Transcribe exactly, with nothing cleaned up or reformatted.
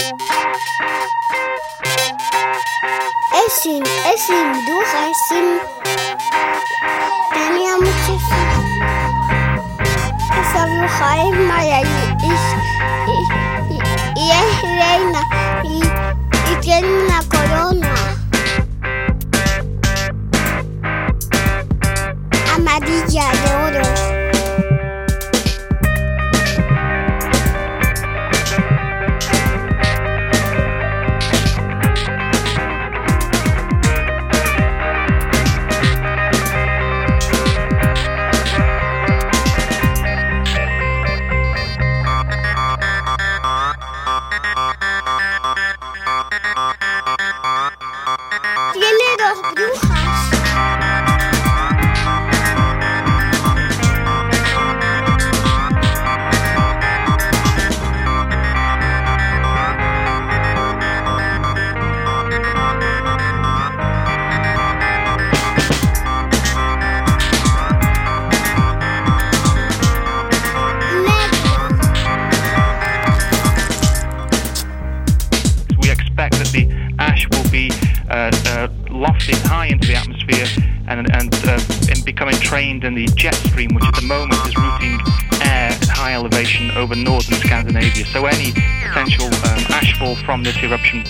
Es sin, es sin duda, es sin... Tenía mucho esa bruja es mala y, y, y, y es reina y, y tiene una corona amarilla de oro. Tiene dos brujas. We expect that the ash will be uh, uh, lofted high into the atmosphere and, and uh, in becoming trained in the jet stream, which at the moment is routing air at high elevation over northern Scandinavia. So any potential um, ashfall from this eruption